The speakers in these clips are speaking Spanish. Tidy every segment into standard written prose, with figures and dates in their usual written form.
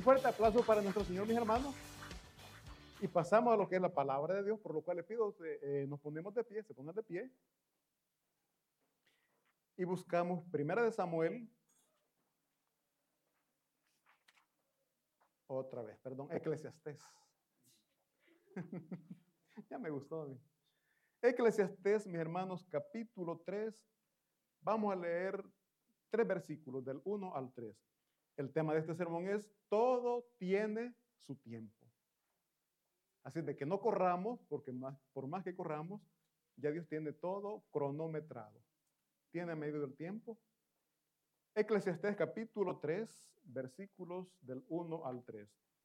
Un fuerte aplauso para nuestro Señor, mis hermanos. Y pasamos a lo que es la palabra de Dios, por lo cual les pido que nos ponemos de pie, se pongan de pie. Y buscamos Primera de Samuel, otra vez, perdón, Eclesiastés. Ya me gustó a mí. Eclesiastés, mis hermanos, capítulo 3. Vamos a leer 3 versículos, del 1 al 3. El tema de este sermón es: todo tiene su tiempo. Así de que no corramos, porque por más que corramos, ya Dios tiene todo cronometrado. Tiene medido el tiempo. Eclesiastés capítulo 3, versículos del 1 al 3.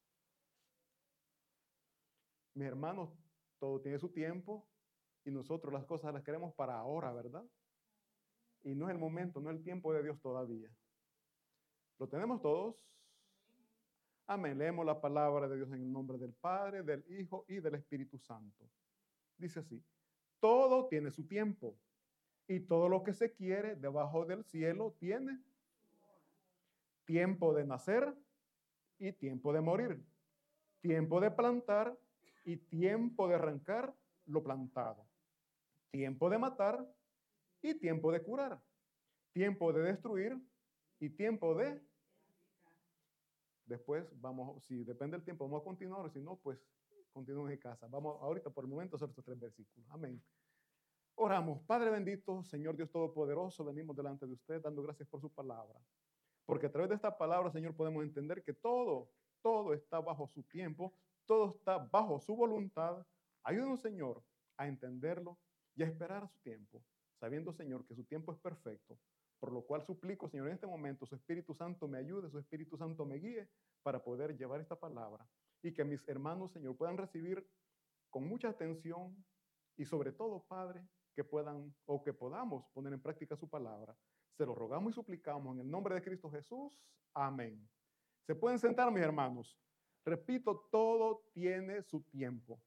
Mis hermanos, todo tiene su tiempo y nosotros las cosas las queremos para ahora, ¿verdad? Y no es el momento, no es el tiempo de Dios todavía. ¿Lo tenemos todos? Amén. Leemos la palabra de Dios en el nombre del Padre, del Hijo y del Espíritu Santo. Dice así: todo tiene su tiempo y todo lo que se quiere debajo del cielo tiene tiempo de nacer y tiempo de morir, tiempo de plantar y tiempo de arrancar lo plantado, tiempo de matar y tiempo de curar, tiempo de destruir y tiempo de... Después vamos, si depende del tiempo, vamos a continuar, si no, pues continúen en casa. Vamos ahorita por el momento a hacer estos 3 versículos. Amén. Oramos. Padre bendito, Señor Dios Todopoderoso, venimos delante de usted dando gracias por su palabra. Porque a través de esta palabra, Señor, podemos entender que todo está bajo su tiempo, todo está bajo su voluntad. Ayúdanos, Señor, a entenderlo y a esperar a su tiempo, sabiendo, Señor, que su tiempo es perfecto. Por lo cual suplico, Señor, en este momento, su Espíritu Santo me ayude, su Espíritu Santo me guíe para poder llevar esta palabra y que mis hermanos, Señor, puedan recibir con mucha atención y sobre todo, Padre, que puedan o que podamos poner en práctica su palabra. Se lo rogamos y suplicamos en el nombre de Cristo Jesús. Amén. Se pueden sentar, mis hermanos. Repito, todo tiene su tiempo.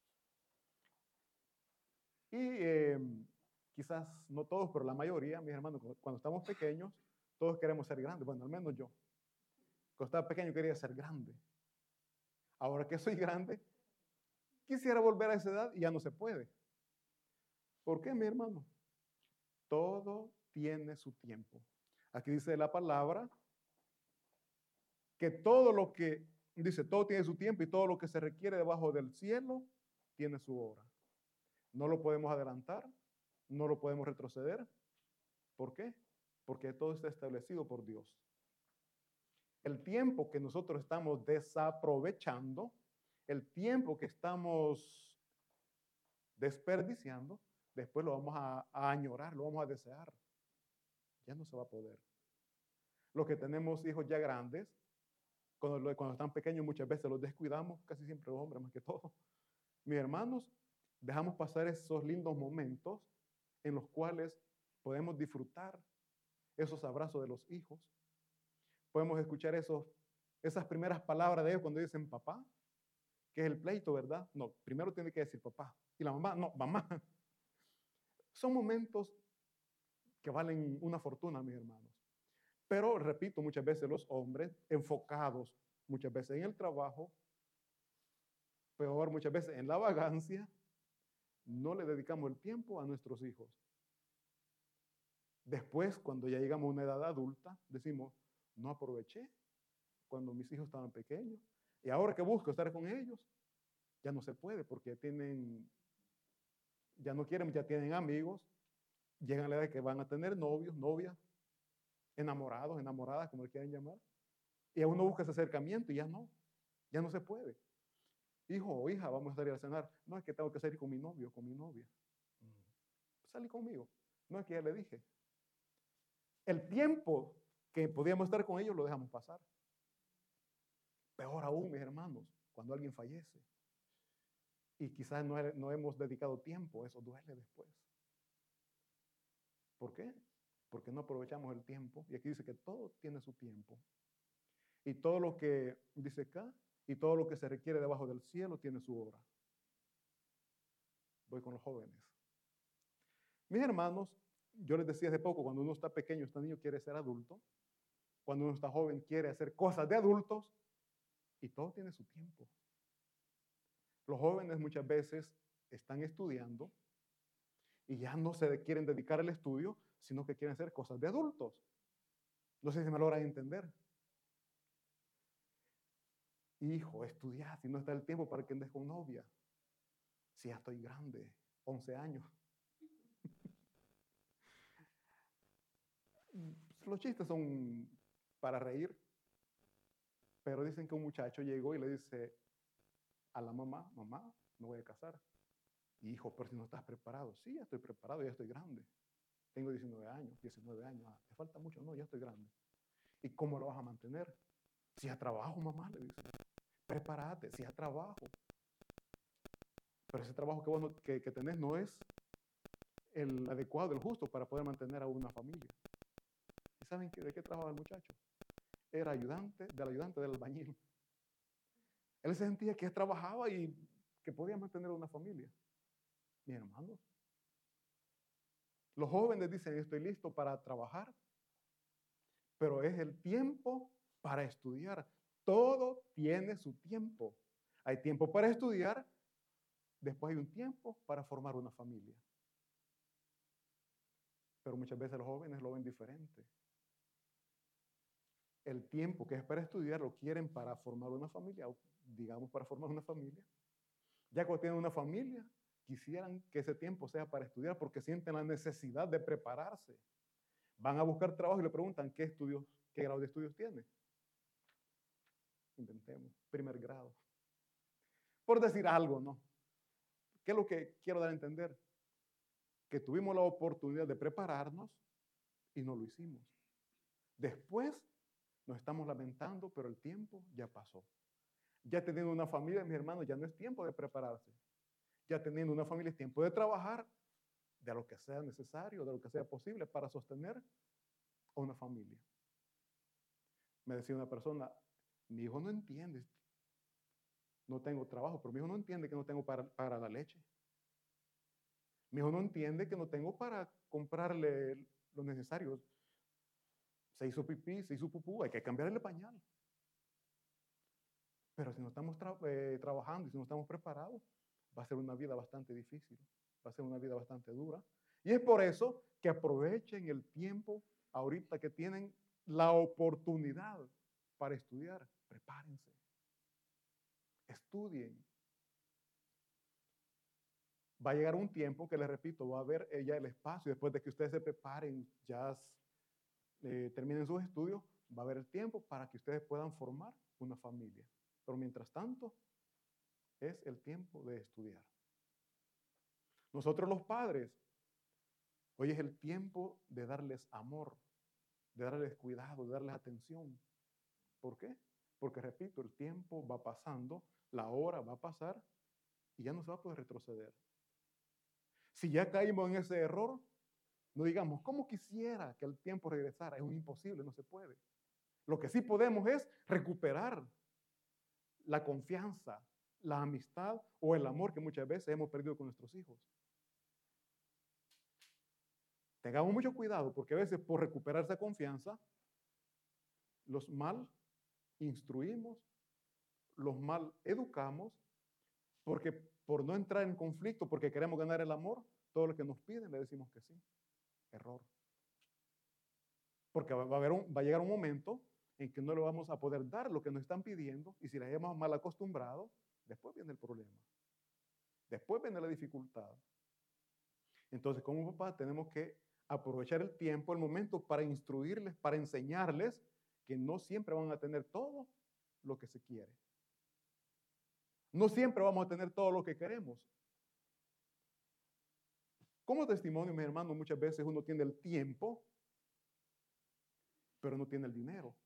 Y quizás no todos, pero la mayoría, mis hermanos, cuando estamos pequeños, todos queremos ser grandes. Bueno, al menos yo. Cuando estaba pequeño quería ser grande. Ahora que soy grande, quisiera volver a esa edad y ya no se puede. ¿Por qué, mi hermano? Todo tiene su tiempo. Aquí dice la palabra que todo lo que, dice, todo tiene su tiempo y todo lo que se requiere debajo del cielo tiene su hora. No lo podemos adelantar, no lo podemos retroceder. ¿Por qué? Porque todo está establecido por Dios. El tiempo que nosotros estamos desaprovechando, el tiempo que estamos desperdiciando, después lo vamos a añorar, lo vamos a desear. Ya no se va a poder. Los que tenemos hijos ya grandes, cuando están pequeños muchas veces los descuidamos, casi siempre los hombres más que todo. Mis hermanos, dejamos pasar esos lindos momentos en los cuales podemos disfrutar esos abrazos de los hijos. Podemos escuchar esas primeras palabras de ellos cuando dicen papá, que es el pleito, ¿verdad? No, primero tiene que decir papá. Y la mamá, no, mamá. Son momentos que valen una fortuna, mis hermanos. Pero, repito, muchas veces los hombres enfocados, muchas veces en el trabajo, peor, muchas veces en la vagancia, no le dedicamos el tiempo a nuestros hijos. Después, cuando ya llegamos a una edad adulta, decimos, no aproveché cuando mis hijos estaban pequeños. Y ahora que busco estar con ellos, ya no se puede porque ya no quieren, ya tienen amigos, llegan a la edad que van a tener novios, novias, enamorados, enamoradas, como le quieran llamar. Y a uno busca ese acercamiento y ya no se puede. Hijo o hija, vamos a salir a cenar. No, es que tengo que salir con mi novio, con mi novia. Salí conmigo. No, es que ya le dije. El tiempo que podíamos estar con ellos lo dejamos pasar. Peor aún, mis hermanos, cuando alguien fallece. Y quizás no hemos dedicado tiempo, eso duele después. ¿Por qué? Porque no aprovechamos el tiempo. Y aquí dice que todo tiene su tiempo. Y todo lo que dice acá, y todo lo que se requiere debajo del cielo tiene su hora. Voy con los jóvenes. Mis hermanos, yo les decía hace poco, cuando uno está pequeño, está niño, quiere ser adulto. Cuando uno está joven, quiere hacer cosas de adultos. Y todo tiene su tiempo. Los jóvenes muchas veces están estudiando y ya no se quieren dedicar al estudio, sino que quieren hacer cosas de adultos. No sé si me logran entender. Hijo, estudia, si no está el tiempo para que andes con novia. Si ya estoy grande, 11 años. Los chistes son para reír, pero dicen que un muchacho llegó y le dice a la mamá, mamá, me voy a casar. Hijo, pero si no estás preparado. Sí, ya estoy preparado, ya estoy grande. Tengo 19 años, 19 años. Ah, ¿te falta mucho? No, ya estoy grande. ¿Y cómo lo vas a mantener? Si a trabajo, mamá, le dice. Prepárate, si a trabajo. Pero ese trabajo que vos que tenés no es el adecuado, el justo para poder mantener a una familia. ¿Y saben de qué trabajaba el muchacho? Era ayudante del albañil. Él se sentía que trabajaba y que podía mantener a una familia. Mis hermanos, los jóvenes dicen, estoy listo para trabajar, pero es el tiempo para estudiar. Todo tiene su tiempo. Hay tiempo para estudiar, después hay un tiempo para formar una familia. Pero muchas veces los jóvenes lo ven diferente. El tiempo que es para estudiar lo quieren para formar una familia, o digamos para formar una familia. Ya cuando tienen una familia, quisieran que ese tiempo sea para estudiar porque sienten la necesidad de prepararse. Van a buscar trabajo y le preguntan qué estudios, qué grado de estudios tiene. Inventemos, primer grado. Por decir algo, ¿no? ¿Qué es lo que quiero dar a entender? Que tuvimos la oportunidad de prepararnos y no lo hicimos. Después nos estamos lamentando, pero el tiempo ya pasó. Ya teniendo una familia, mis hermanos, ya no es tiempo de prepararse. Ya teniendo una familia es tiempo de trabajar de lo que sea necesario, de lo que sea posible para sostener a una familia. Me decía una persona, mi hijo no entiende, no tengo trabajo, pero mi hijo no entiende que no tengo para la leche. Mi hijo no entiende que no tengo para comprarle lo necesario. Se hizo pipí, se hizo pupú, hay que cambiarle el pañal. Pero si no estamos trabajando y si no estamos preparados, va a ser una vida bastante difícil, va a ser una vida bastante dura. Y es por eso que aprovechen el tiempo ahorita que tienen la oportunidad para estudiar. Prepárense, estudien. Va a llegar un tiempo que, les repito, va a haber ya el espacio, después de que ustedes se preparen, ya terminen sus estudios, va a haber el tiempo para que ustedes puedan formar una familia. Pero mientras tanto, es el tiempo de estudiar. Nosotros los padres, hoy es el tiempo de darles amor, de darles cuidado, de darles atención. ¿Por qué? Porque, repito, el tiempo va pasando, la hora va a pasar y ya no se va a poder retroceder. Si ya caímos en ese error, no digamos, ¿cómo quisiera que el tiempo regresara? Es un imposible, no se puede. Lo que sí podemos es recuperar la confianza, la amistad o el amor que muchas veces hemos perdido con nuestros hijos. Tengamos mucho cuidado porque a veces por recuperar esa confianza, los mal instruimos, los mal educamos, porque por no entrar en conflicto, porque queremos ganar el amor, todo lo que nos piden le decimos que sí. Error. Porque va a llegar un momento en que no le vamos a poder dar lo que nos están pidiendo y si les hemos mal acostumbrado, después viene el problema. Después viene la dificultad. Entonces, como papá, tenemos que aprovechar el tiempo, el momento para instruirles, para enseñarles que no siempre van a tener todo lo que se quiere. No siempre vamos a tener todo lo que queremos. Como testimonio, mis hermanos, muchas veces uno tiene el tiempo, pero no tiene el dinero.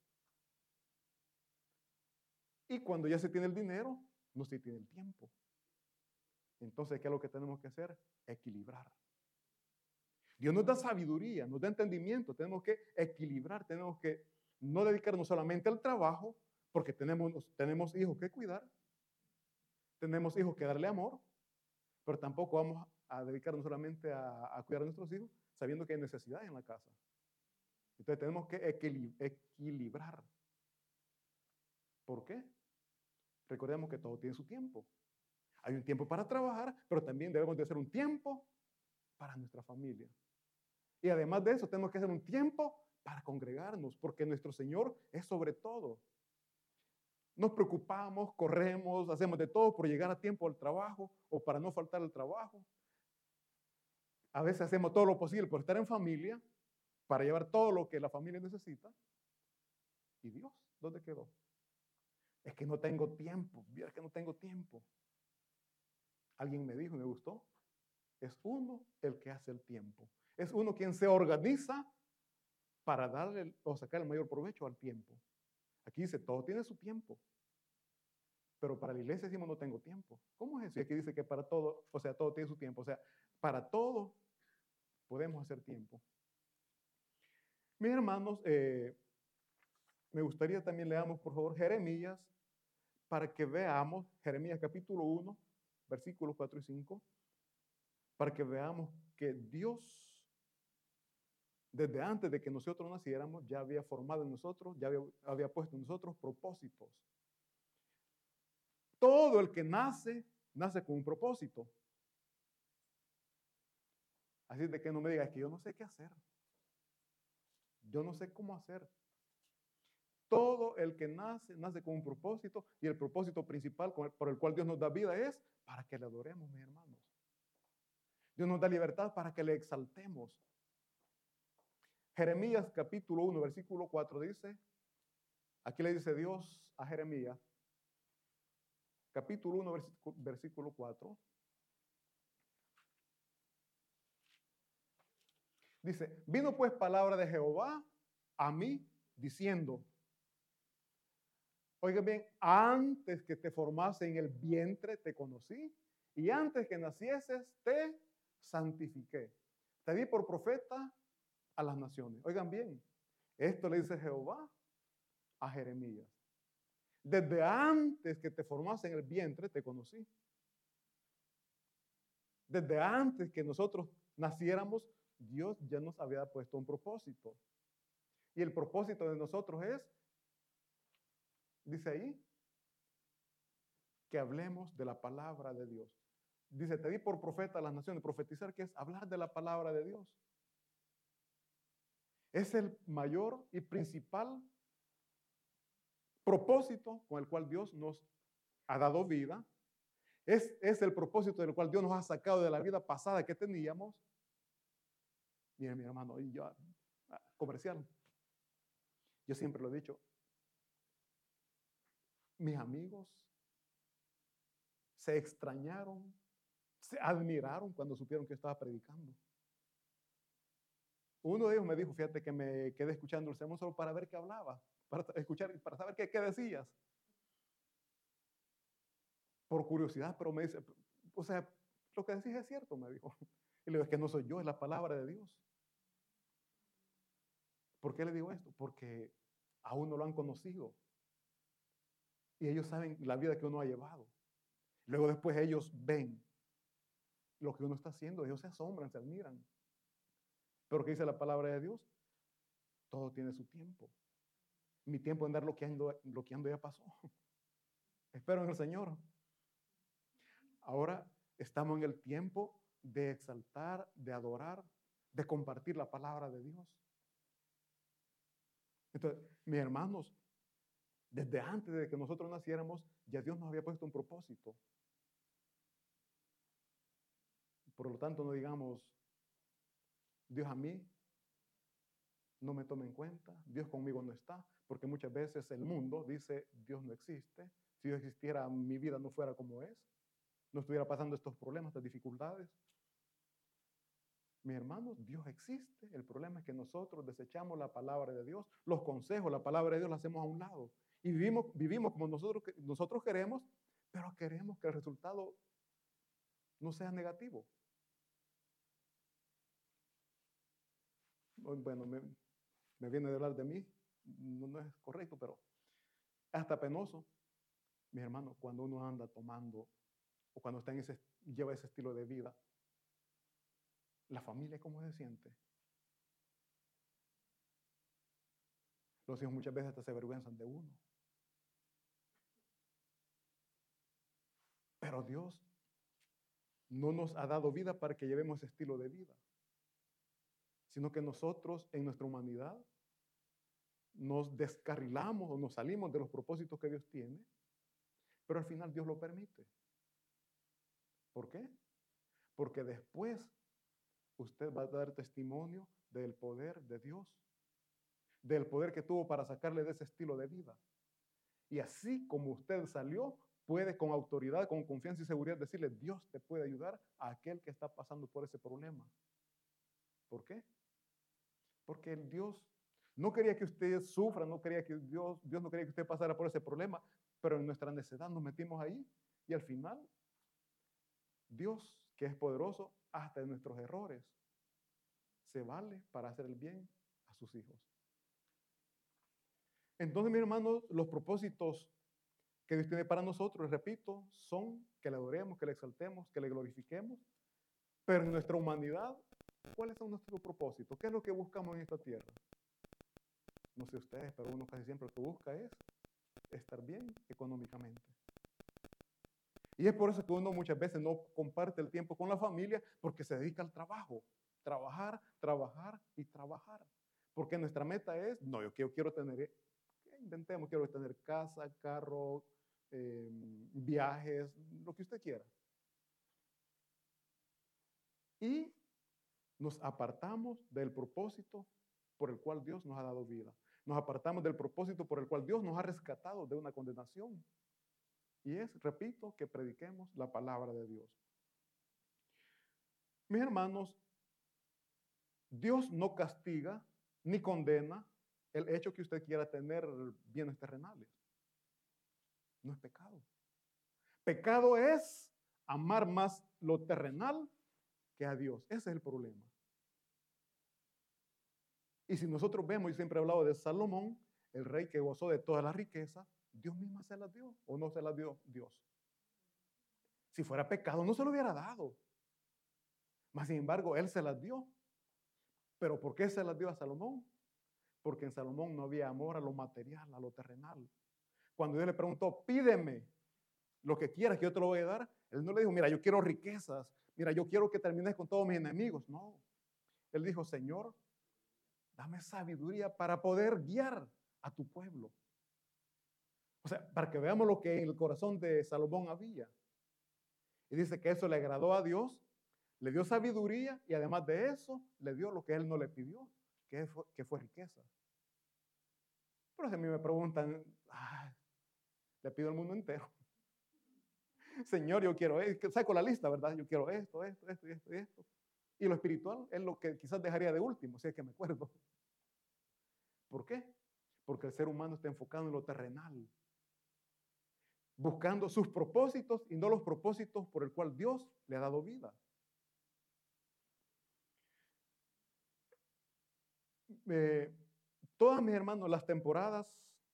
Y cuando ya se tiene el dinero, no se tiene el tiempo. Entonces, ¿qué es lo que tenemos que hacer? Equilibrar. Dios nos da sabiduría, nos da entendimiento. Tenemos que equilibrar, tenemos que no dedicarnos solamente al trabajo, porque tenemos hijos que cuidar, tenemos hijos que darle amor, pero tampoco vamos a dedicarnos solamente a cuidar a nuestros hijos, sabiendo que hay necesidad en la casa. Entonces tenemos que equilibrar. ¿Por qué? Recordemos que todo tiene su tiempo. Hay un tiempo para trabajar, pero también debemos de hacer un tiempo para nuestra familia. Y además de eso, tenemos que hacer un tiempo para congregarnos, porque nuestro Señor es sobre todo. Nos preocupamos, corremos, hacemos de todo por llegar a tiempo al trabajo o para no faltar al trabajo. A veces hacemos todo lo posible por estar en familia, para llevar todo lo que la familia necesita. ¿Y Dios? ¿Dónde quedó? Es que no tengo tiempo, es que no tengo tiempo. Alguien me dijo y me gustó, es uno el que hace el tiempo. Es uno quien se organiza para darle o sacar el mayor provecho al tiempo. Aquí dice, todo tiene su tiempo. Pero para la iglesia decimos, no tengo tiempo. ¿Cómo es eso? Y aquí dice que para todo, o sea, todo tiene su tiempo. O sea, para todo podemos hacer tiempo. Mis hermanos, me gustaría también leamos, por favor, Jeremías, para que veamos, Jeremías capítulo 1, versículos 4 y 5, para que veamos que Dios, desde antes de que nosotros naciéramos, ya había formado en nosotros, ya había puesto en nosotros propósitos. Todo el que nace, nace con un propósito. Así de que no me digas que yo no sé qué hacer. Yo no sé cómo hacer. Todo el que nace, nace con un propósito, y el propósito principal por el cual Dios nos da vida es para que le adoremos, mis hermanos. Dios nos da libertad para que le exaltemos. Jeremías capítulo 1, versículo 4 dice, aquí le dice Dios a Jeremías, capítulo 1, versículo 4, dice, vino pues palabra de Jehová a mí diciendo, oiga bien, antes que te formase en el vientre te conocí y antes que nacieses te santifiqué. Te di por profeta a las naciones. Oigan bien, esto le dice Jehová a Jeremías. Desde antes que te formase en el vientre te conocí. Desde antes que nosotros naciéramos, Dios ya nos había puesto un propósito. Y el propósito de nosotros es, dice ahí, que hablemos de la palabra de Dios. Dice, te di por profeta a las naciones. Profetizar, que es hablar de la palabra de Dios. Es el mayor y principal propósito con el cual Dios nos ha dado vida. Es el propósito del cual Dios nos ha sacado de la vida pasada que teníamos. Mire, mi hermano, y yo, comercial. Yo siempre lo he dicho. Mis amigos se extrañaron, se admiraron cuando supieron que yo estaba predicando. Uno de ellos me dijo, fíjate que me quedé escuchando el sermón solo para ver qué hablaba, para escuchar, para saber qué decías. Por curiosidad, pero me dice, o sea, lo que decís es cierto, me dijo. Y le digo, es que no soy yo, es la palabra de Dios. ¿Por qué le digo esto? Porque aún no lo han conocido. Y ellos saben la vida que uno ha llevado. Luego después ellos ven lo que uno está haciendo, ellos se asombran, se admiran. Pero ¿qué dice la palabra de Dios? Todo tiene su tiempo. Mi tiempo de andar bloqueando ya pasó. Espero en el Señor. Ahora estamos en el tiempo de exaltar, de adorar, de compartir la palabra de Dios. Entonces, mis hermanos, desde antes de que nosotros naciéramos, ya Dios nos había puesto un propósito. Por lo tanto, no digamos, Dios a mí no me toma en cuenta, Dios conmigo no está, porque muchas veces el mundo dice, Dios no existe. Si Dios existiera, mi vida no fuera como es, no estuviera pasando estos problemas, estas dificultades. Mis hermanos, Dios existe. El problema es que nosotros desechamos la palabra de Dios, los consejos, la palabra de Dios la hacemos a un lado. Y vivimos como nosotros queremos, pero queremos que el resultado no sea negativo. Bueno, me viene de hablar de mí, no es correcto, pero hasta penoso, mis hermanos, cuando uno anda tomando o cuando lleva ese estilo de vida, la familia, ¿cómo se siente? Los hijos muchas veces hasta se avergüenzan de uno. Pero Dios no nos ha dado vida para que llevemos ese estilo de vida, sino que nosotros en nuestra humanidad nos descarrilamos o nos salimos de los propósitos que Dios tiene, pero al final Dios lo permite. ¿Por qué? Porque después usted va a dar testimonio del poder de Dios, del poder que tuvo para sacarle de ese estilo de vida. Y así como usted salió, puede con autoridad, con confianza y seguridad decirle, Dios te puede ayudar a aquel que está pasando por ese problema. ¿Por qué? Porque el Dios no quería que usted sufra, no quería que Dios no quería que usted pasara por ese problema, pero en nuestra necedad nos metimos ahí y al final Dios, que es poderoso hasta en nuestros errores, se vale para hacer el bien a sus hijos. Entonces, mis hermanos, los propósitos que Dios tiene para nosotros, repito, son que le adoremos, que le exaltemos, que le glorifiquemos, pero en nuestra humanidad, ¿cuáles son nuestros propósitos? ¿Qué es lo que buscamos en esta tierra? No sé ustedes, pero uno casi siempre lo que busca es estar bien económicamente. Y es por eso que uno muchas veces no comparte el tiempo con la familia porque se dedica al trabajo. Trabajar, trabajar y trabajar. Porque nuestra meta es, no, yo quiero tener, inventemos, quiero tener casa, carro, viajes, lo que usted quiera. Y nos apartamos del propósito por el cual Dios nos ha dado vida. Nos apartamos del propósito por el cual Dios nos ha rescatado de una condenación. Y es, repito, que prediquemos la palabra de Dios. Mis hermanos, Dios no castiga ni condena el hecho que usted quiera tener bienes terrenales. No es pecado. Pecado es amar más lo terrenal que a Dios. Ese es el problema. Y si nosotros vemos, y siempre he hablado de Salomón, el rey que gozó de toda la riqueza, Dios misma se las dio o no se las dio Dios. Si fuera pecado, no se lo hubiera dado. Mas, sin embargo, él se las dio. ¿Pero por qué se las dio a Salomón? Porque en Salomón no había amor a lo material, a lo terrenal. Cuando Dios le preguntó, pídeme lo que quieras que yo te lo voy a dar, él no le dijo, mira, yo quiero riquezas, mira, yo quiero que termines con todos mis enemigos. No. Él dijo, Señor, dame sabiduría para poder guiar a tu pueblo. O sea, para que veamos lo que en el corazón de Salomón había. Y dice que eso le agradó a Dios, le dio sabiduría y además de eso le dio lo que él no le pidió, que fue riqueza. Pero si a mí me preguntan, le pido al mundo entero. Señor, yo quiero esto, saco la lista, ¿verdad? Yo quiero esto, esto, esto y esto y esto. Y lo espiritual es lo que quizás dejaría de último, si es que me acuerdo. ¿Por qué? Porque el ser humano está enfocado en lo terrenal, buscando sus propósitos y no los propósitos por el cual Dios le ha dado vida. Todas mis hermanos, las temporadas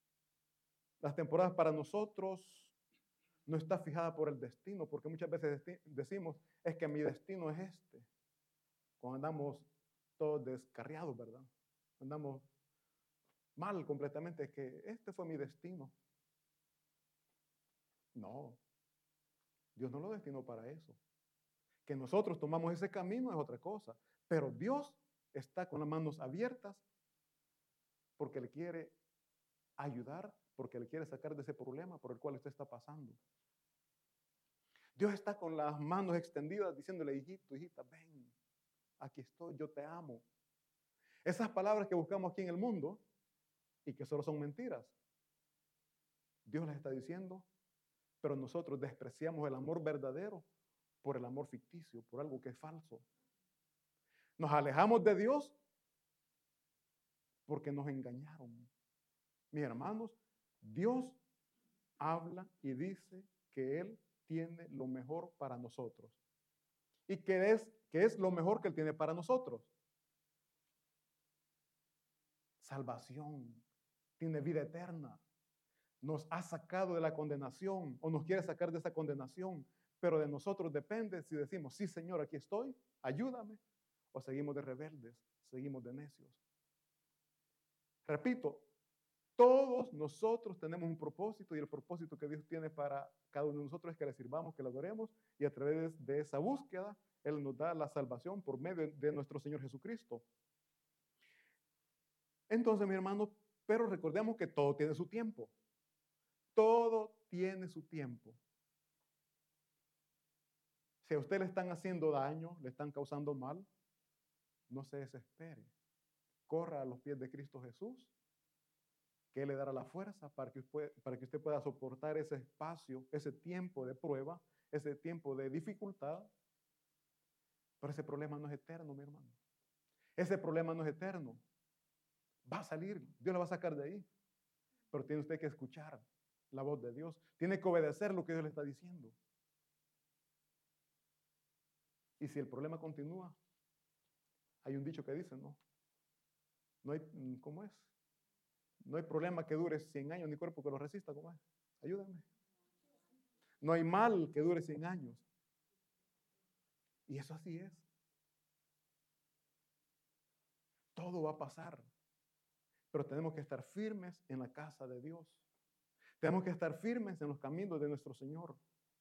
para nosotros no está fijada por el destino, porque muchas veces decimos, es que mi destino es este. Cuando andamos todos descarriados, ¿verdad? Andamos mal completamente, es que este fue mi destino. No, Dios no lo destinó para eso. Que nosotros tomamos ese camino es otra cosa, pero Dios está con las manos abiertas porque le quiere ayudar, porque le quiere sacar de ese problema por el cual usted está pasando. Dios está con las manos extendidas diciéndole, hijito, hijita, ven, aquí estoy, yo te amo. Esas palabras que buscamos aquí en el mundo y que solo son mentiras, Dios las está diciendo, pero nosotros despreciamos el amor verdadero por el amor ficticio, por algo que es falso. Nos alejamos de Dios porque nos engañaron. Mis hermanos, Dios habla y dice que Él tiene lo mejor para nosotros. ¿Y qué es lo mejor que Él tiene para nosotros? Salvación, tiene vida eterna. Nos ha sacado de la condenación o nos quiere sacar de esa condenación, pero de nosotros depende si decimos, sí Señor, aquí estoy, ayúdame, o seguimos de rebeldes, seguimos de necios. Repito, Todos nosotros tenemos un propósito y el propósito que Dios tiene para cada uno de nosotros es que le sirvamos, que le adoremos y a través de esa búsqueda Él nos da la salvación por medio de nuestro Señor Jesucristo. Entonces, mi hermano, pero recordemos que todo tiene su tiempo. Todo tiene su tiempo. Si a usted le están haciendo daño, le están causando mal, no se desespere. Corra a los pies de Cristo Jesús, que Él le dará la fuerza para que usted pueda soportar ese espacio, ese tiempo de prueba, ese tiempo de dificultad. Pero ese problema no es eterno, mi hermano. Ese problema no es eterno. Va a salir, Dios lo va a sacar de ahí. Pero tiene usted que escuchar la voz de Dios. Tiene que obedecer lo que Dios le está diciendo. Y si el problema continúa, hay un dicho que dice, no hay, ¿cómo es? No hay problema que dure 100 años, ni cuerpo que lo resista, ¿cómo es? Ayúdenme. No hay mal que dure 100 años. Y eso así es. Todo va a pasar. Pero tenemos que estar firmes en la casa de Dios. Tenemos que estar firmes en los caminos de nuestro Señor.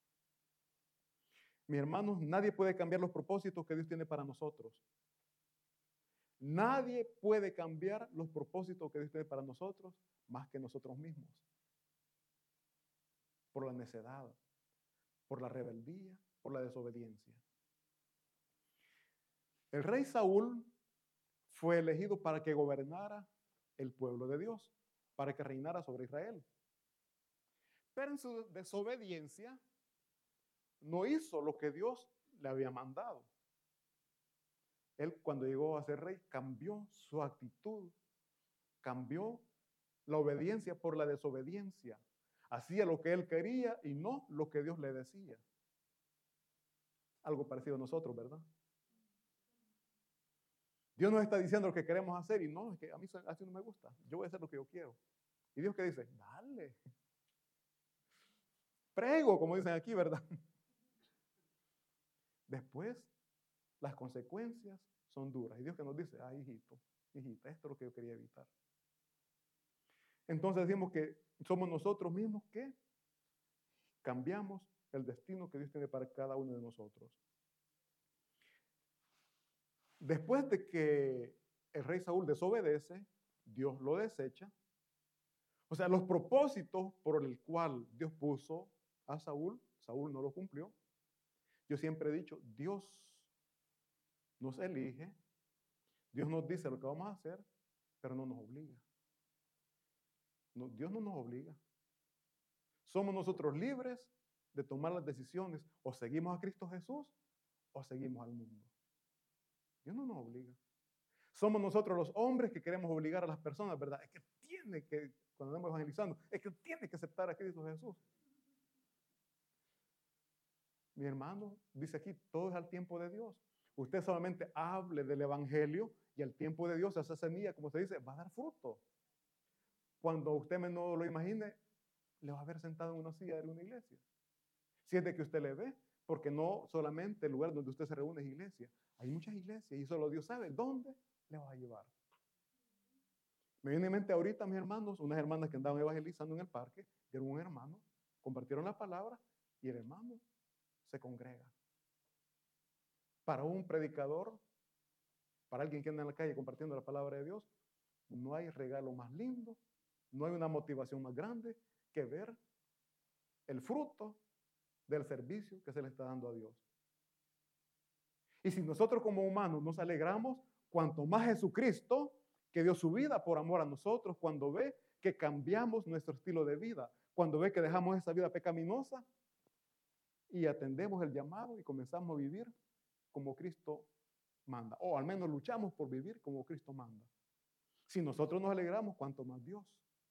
Mis hermanos, nadie puede cambiar los propósitos que Dios tiene para nosotros. Nadie puede cambiar los propósitos que Dios tiene para nosotros más que nosotros mismos. Por la necedad, por la rebeldía, por la desobediencia. El rey Saúl fue elegido para que gobernara el pueblo de Dios, para que reinara sobre Israel. Pero en su desobediencia no hizo lo que Dios le había mandado. Él, cuando llegó a ser rey, cambió su actitud, cambió la obediencia por la desobediencia. Hacía lo que él quería y no lo que Dios le decía. Algo parecido a nosotros, ¿verdad? Dios nos está diciendo lo que queremos hacer y no, es que a mí así no me gusta. Yo voy a hacer lo que yo quiero. Y Dios que dice, dale. Prego, como dicen aquí, ¿verdad? Después, las consecuencias son duras. Y Dios que nos dice, hijito, hijita, esto es lo que yo quería evitar. Entonces decimos que somos nosotros mismos que cambiamos el destino que Dios tiene para cada uno de nosotros. Después de que el rey Saúl desobedece, Dios lo desecha. O sea, los propósitos por el cual Dios puso a Saúl, Saúl no lo cumplió. Yo siempre he dicho, Dios nos elige, Dios nos dice lo que vamos a hacer, pero no nos obliga. No, Dios no nos obliga. Somos nosotros libres de tomar las decisiones. O seguimos a Cristo Jesús o seguimos al mundo. Dios no nos obliga. Somos nosotros los hombres que queremos obligar a las personas, ¿verdad? Es que tiene que, cuando estamos evangelizando, es que tiene que aceptar a Cristo Jesús. Mi hermano dice aquí, todo es al tiempo de Dios. Usted solamente hable del evangelio y al tiempo de Dios, esa semilla, como se dice, va a dar fruto. Cuando usted menos lo imagine, le va a ver sentado en una silla de una iglesia. Si es de que usted le ve, porque no solamente el lugar donde usted se reúne es iglesia. Hay muchas iglesias y solo Dios sabe dónde le va a llevar. Me viene en mente ahorita, mis hermanos, unas hermanas que andaban evangelizando en el parque, vieron un hermano, compartieron la palabra y el hermano se congrega. Para un predicador, para alguien que anda en la calle compartiendo la palabra de Dios, no hay regalo más lindo, no hay una motivación más grande que ver el fruto del servicio que se le está dando a Dios. Y si nosotros como humanos nos alegramos, cuanto más Jesucristo, que dio su vida por amor a nosotros, cuando ve que cambiamos nuestro estilo de vida, cuando ve que dejamos esa vida pecaminosa y atendemos el llamado y comenzamos a vivir como Cristo manda, o al menos luchamos por vivir como Cristo manda. Si nosotros nos alegramos, cuanto más Dios,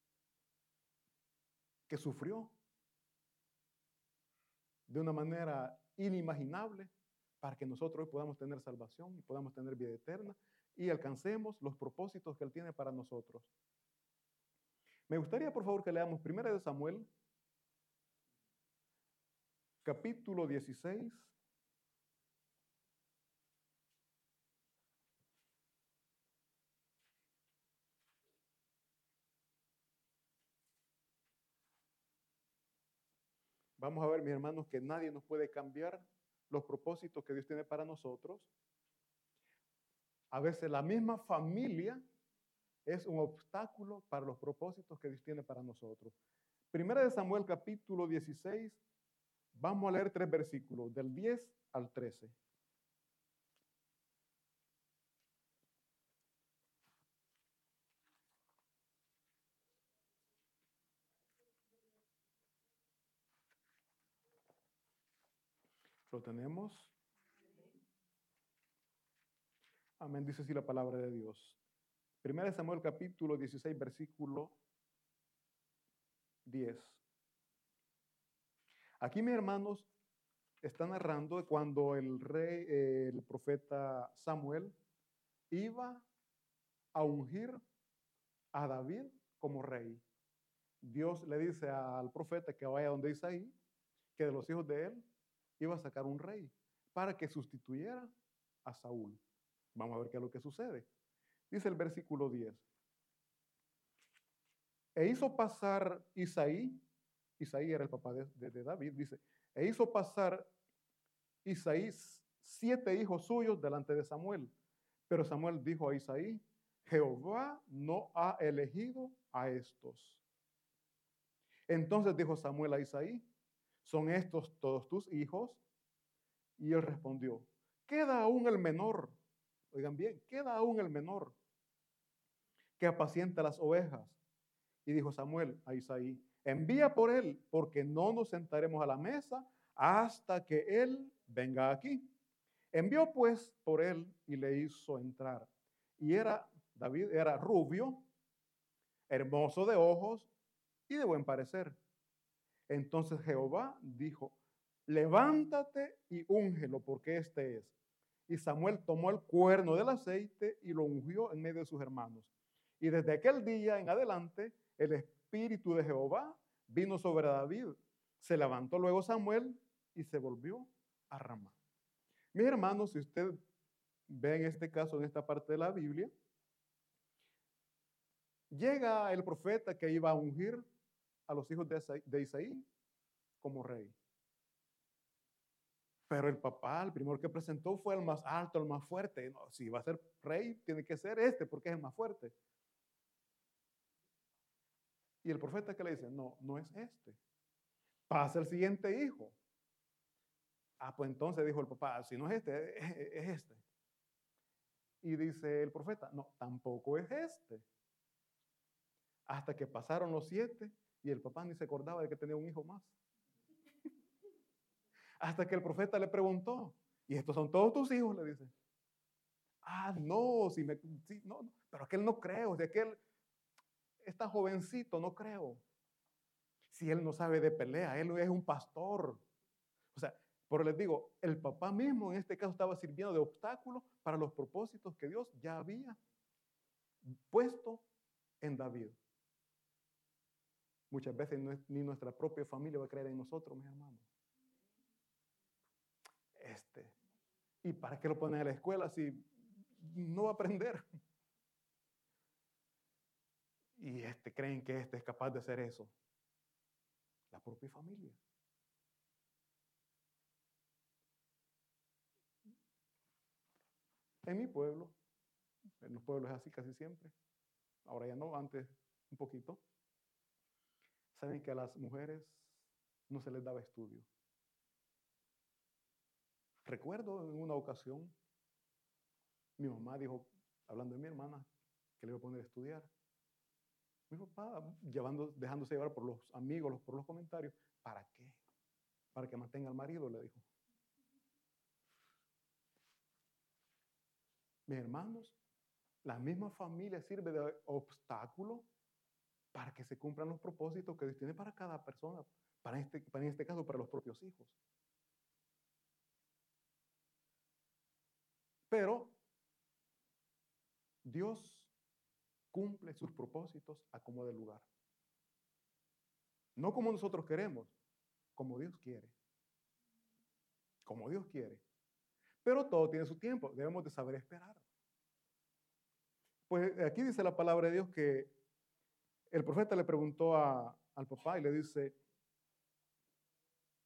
que sufrió de una manera inimaginable para que nosotros hoy podamos tener salvación y podamos tener vida eterna y alcancemos los propósitos que Él tiene para nosotros. Me gustaría, por favor, que leamos 1 Samuel, capítulo 16. vamos a ver, mis hermanos, que nadie nos puede cambiar los propósitos que Dios tiene para nosotros. A veces la misma familia es un obstáculo para los propósitos que Dios tiene para nosotros. Primera de Samuel, capítulo 16, vamos a leer 3 versículos, del 10 al 13. ¿Lo tenemos? Amén, dice así la palabra de Dios. Primera de Samuel, capítulo 16, versículo 10. Aquí, mis hermanos, está narrando de cuando el rey, el profeta Samuel, iba a ungir a David como rey. Dios le dice al profeta que vaya donde Isaí, que de los hijos de él iba a sacar un rey para que sustituyera a Saúl. Vamos a ver qué es lo que sucede. Dice el versículo 10. E hizo pasar Isaí era el papá de David, dice, e hizo pasar Isaí 7 hijos suyos delante de Samuel. Pero Samuel dijo a Isaí, Jehová no ha elegido a estos. Entonces dijo Samuel a Isaí, ¿son estos todos tus hijos? Y él respondió, queda aún el menor. Oigan bien, queda aún el menor que apacienta las ovejas. Y dijo Samuel a Isaí, envía por él, porque no nos sentaremos a la mesa hasta que él venga aquí. Envió pues por él y le hizo entrar. Y David era rubio, hermoso de ojos y de buen parecer. Entonces Jehová dijo, levántate y úngelo, porque este es. Y Samuel tomó el cuerno del aceite y lo ungió en medio de sus hermanos. Y desde aquel día en adelante, el espíritu de Jehová vino sobre David. Se levantó luego Samuel y se volvió a Ramá. Mis hermanos, si usted ve en este caso, en esta parte de la Biblia, llega el profeta que iba a ungir a los hijos de Isaí como rey. Pero el papá, el primero que presentó fue el más alto, el más fuerte. No, si va a ser rey, tiene que ser este porque es el más fuerte. Y el profeta que le dice, no, no es este. Pasa el siguiente hijo. Ah, pues entonces dijo el papá, si no es este, es este. Y dice el profeta, no, tampoco es este. Hasta que pasaron los 7 y el papá ni se acordaba de que tenía un hijo más. Hasta que el profeta le preguntó, ¿y estos son todos tus hijos? Le dice. Ah, no, no, pero aquel no creo, de aquel está jovencito, no creo. Si él no sabe de pelea, él es un pastor. O sea, pero les digo, el papá mismo en este caso estaba sirviendo de obstáculo para los propósitos que Dios ya había puesto en David. Muchas veces ni nuestra propia familia va a creer en nosotros, mis hermanos. ¿Y para qué lo ponen a la escuela si no va a aprender? Y creen que es capaz de hacer eso. La propia familia. En mi pueblo, en los pueblos es así casi siempre. Ahora ya no, antes un poquito. Saben que a las mujeres no se les daba estudio. Recuerdo en una ocasión, mi mamá dijo, hablando de mi hermana, que le iba a poner a estudiar. Mi papá, dejándose llevar por los amigos, por los comentarios, ¿para qué? Para que mantenga al marido, le dijo. Mis hermanos, la misma familia sirve de obstáculo para que se cumplan los propósitos que Dios tiene para cada persona, en este caso para los propios hijos. Pero Dios cumple sus propósitos a como de lugar. No como nosotros queremos, como Dios quiere. Como Dios quiere. Pero todo tiene su tiempo, debemos de saber esperar. Pues aquí dice la palabra de Dios que el profeta le preguntó al papá y le dice,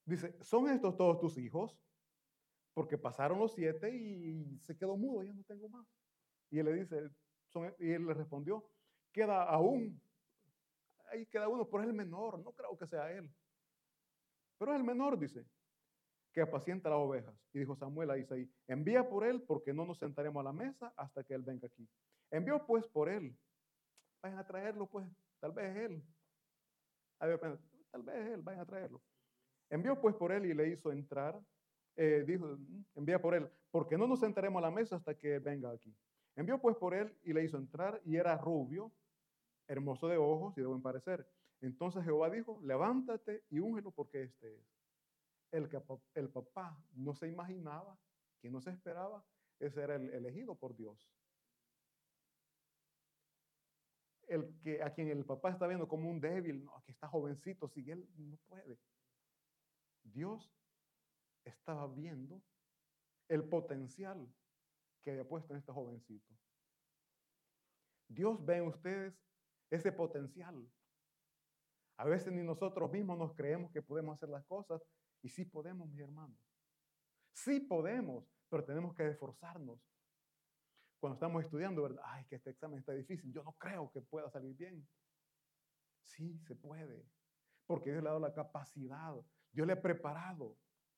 Dice, ¿son estos todos tus hijos? Porque pasaron los 7 y se quedó mudo, ya no tengo más. Y él le dice, y él le respondió, queda aún, ahí queda uno, pero es el menor, no creo que sea él. Pero es el menor, dice, que apacienta las ovejas. Y dijo Samuel a Isaí, envía por él, porque no nos sentaremos a la mesa hasta que él venga aquí. Envió pues por él. Vayan a traerlo, pues, tal vez es él. Tal vez es él, vayan a traerlo. Envió pues por él y le hizo entrar. Dijo, envía por él, porque no nos sentaremos a la mesa hasta que venga aquí. Envió pues por él y le hizo entrar, y era rubio, hermoso de ojos y de buen parecer. Entonces Jehová dijo, levántate y úngelo, porque este es. El papá no se imaginaba, que no se esperaba, ese era el elegido por Dios. A quien el papá está viendo como un débil, no, que está jovencito, si él no puede. Dios estaba viendo el potencial que había puesto en este jovencito. Dios ve en ustedes ese potencial. A veces ni nosotros mismos nos creemos que podemos hacer las cosas, y sí podemos, mis hermanos. Sí podemos, pero tenemos que esforzarnos. Cuando estamos estudiando, ¿verdad? Ay, que este examen está difícil, yo no creo que pueda salir bien. Sí, se puede, porque Dios le ha dado la capacidad, Dios le ha preparado.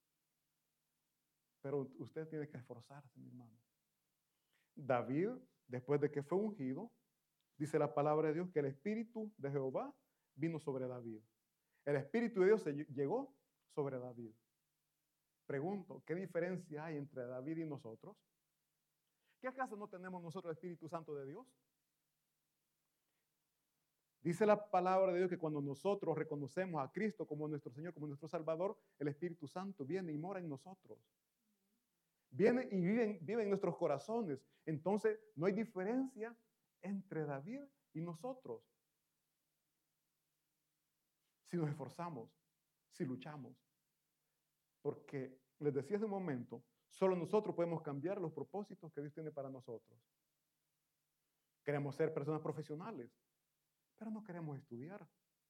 Pero usted tiene que esforzarse, mi hermano. David, después de que fue ungido, dice la palabra de Dios que el Espíritu de Jehová vino sobre David. El Espíritu de Dios se llegó sobre David. Pregunto, ¿qué diferencia hay entre David y nosotros? ¿Qué acaso no tenemos nosotros el Espíritu Santo de Dios? Dice la palabra de Dios que cuando nosotros reconocemos a Cristo como nuestro Señor, como nuestro Salvador, el Espíritu Santo viene y mora en nosotros. Viene y vive en nuestros corazones. Entonces, no hay diferencia entre David y nosotros. Si nos esforzamos, si luchamos. Porque les decía hace un momento, solo nosotros podemos cambiar los propósitos que Dios tiene para nosotros. Queremos ser personas profesionales, pero no queremos estudiar.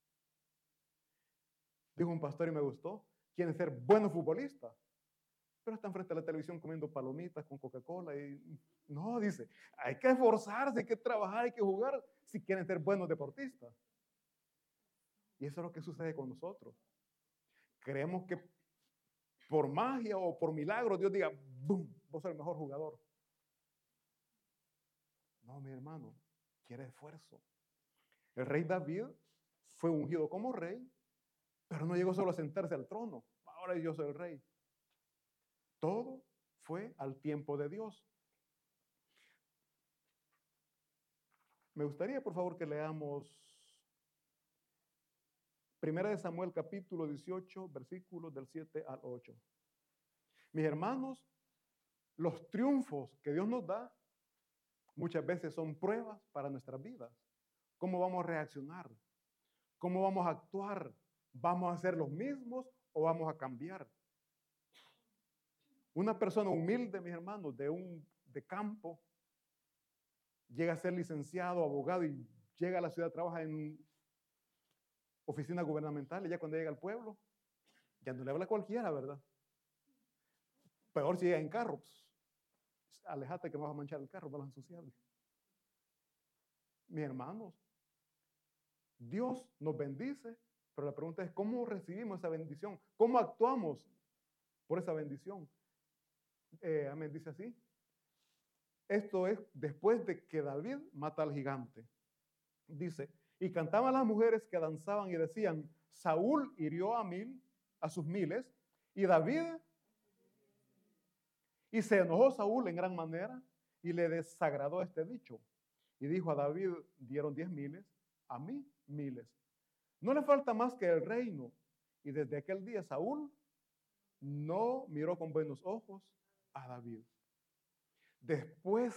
Dijo un pastor y me gustó, quieren ser buenos futbolistas, pero están frente a la televisión comiendo palomitas con Coca-Cola y no, dice, hay que esforzarse, hay que trabajar, hay que jugar si quieren ser buenos deportistas. Y eso es lo que sucede con nosotros. Creemos que por magia o por milagro Dios diga, ¡boom!, vos sos el mejor jugador. No, mi hermano, quiere esfuerzo. El rey David fue ungido como rey, pero no llegó solo a sentarse al trono. Ahora yo soy el rey. Todo fue al tiempo de Dios. Me gustaría, por favor, que leamos 1 Samuel capítulo 18, versículos del 7 al 8. Mis hermanos, los triunfos que Dios nos da muchas veces son pruebas para nuestras vidas. ¿Cómo vamos a reaccionar? ¿Cómo vamos a actuar? ¿Vamos a ser los mismos o vamos a cambiar? Una persona humilde, mis hermanos, de campo, llega a ser licenciado, abogado y llega a la ciudad, trabaja en oficina gubernamental y ya cuando llega al pueblo, ya no le habla a cualquiera, ¿verdad? Peor si llega en carro, pues, alejate que no vas a manchar el carro, vas a ensuciar. Mis hermanos, Dios nos bendice, pero la pregunta es, ¿cómo recibimos esa bendición? ¿Cómo actuamos por esa bendición? Amén, dice así. Esto es después de que David mata al gigante. Dice, y cantaban las mujeres que danzaban y decían, Saúl hirió a sus miles, y David, y se enojó Saúl en gran manera, y le desagradó este dicho. Y dijo a David, dieron 10 miles, a mí miles. No le falta más que el reino. Y desde aquel día Saúl no miró con buenos ojos a David. Después